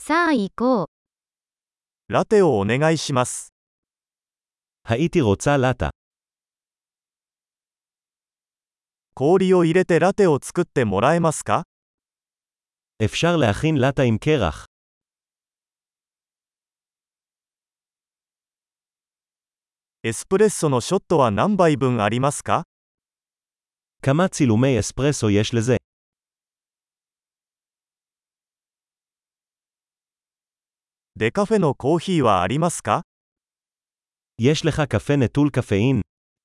さあ行こう。 ラテをお願いします。 הייתי רוצה לטה. 氷を入れてラテを作ってもらえますか？ אפשר להכין לטה עם קרח. エスプレッソのショットは何杯分ありますか？ כמה צילומי אספרסו יש לזה? デカフェのコーヒーはありますか？ יש לך קפה נטול קפאין?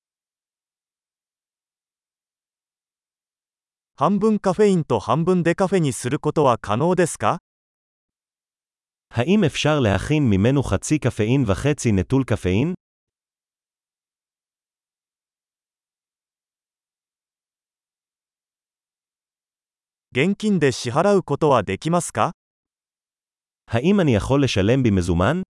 半分カフェインと半分デカフェにすることは可能ですか？ האם אפשר להכין ממנו חצי קפאין וחצי נטול קפאין? 現金で支払うことはできますか？ האם אני יכול לשלם במזומן?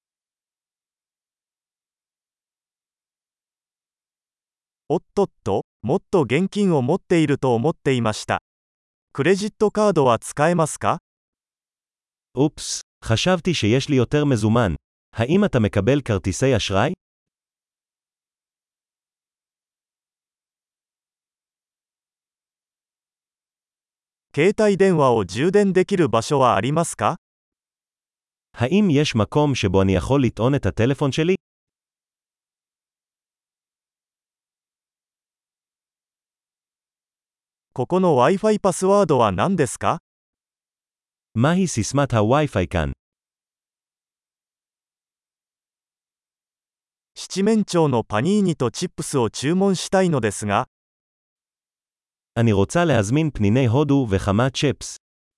おっとっと、もっと現金を持っていると思っていました。クレジットカードは使えますか？ אופס, חשבתי שיש לי יותר מזומן. האם אתה מקבל כרטיסי אשראי? 携帯電話を充電できる場所はありますか？ האם יש מקום שבו אני יכול לטעון את הטלפון שלי? ここの Wi-Fi パスワードは何ですか？ מהי סיסמת הווי-פיי כאן? 七面鳥のパニーニとチップスを注文したいのですが、 אני רוצה להזמין פניני הודו וכמה צ'פס.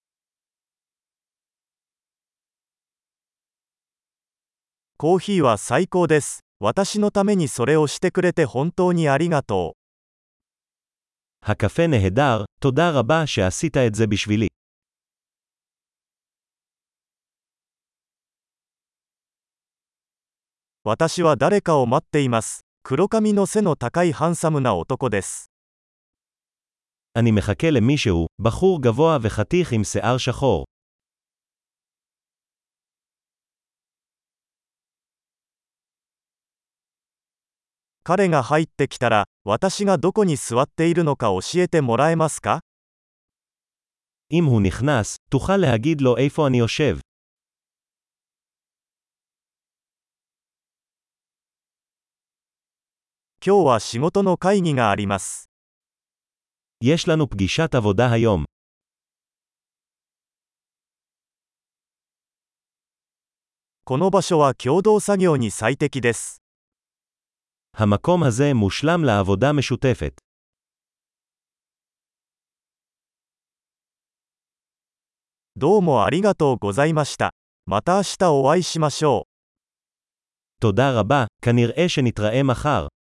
コーヒーは最高です。私のためにそれをしてくれて本当にありがとう。 הקפה נהדר, תודה רבה שעשית את זה בשבילי. 私は誰かを待っています。黒髪の背の高いハンサムな男です。 אני מחכה למישהו, בחור גבוה וחתיך עם שיער שחור. 彼が入ってきたら、私がどこに座っているのか教えてもらえますか？ אם הוא נכנס, תוכל להגיד לו איפה אני יושב. 今日は仕事の会議があります。 יש לנו פגישת עבודה היום. この場所は共同作業に最適です。 המקום הזה מושלם לעבודה משותפת. どうもありがとうございました。また明日お会いしましょう。 תודה רבה, כנראה שנתראה מחר.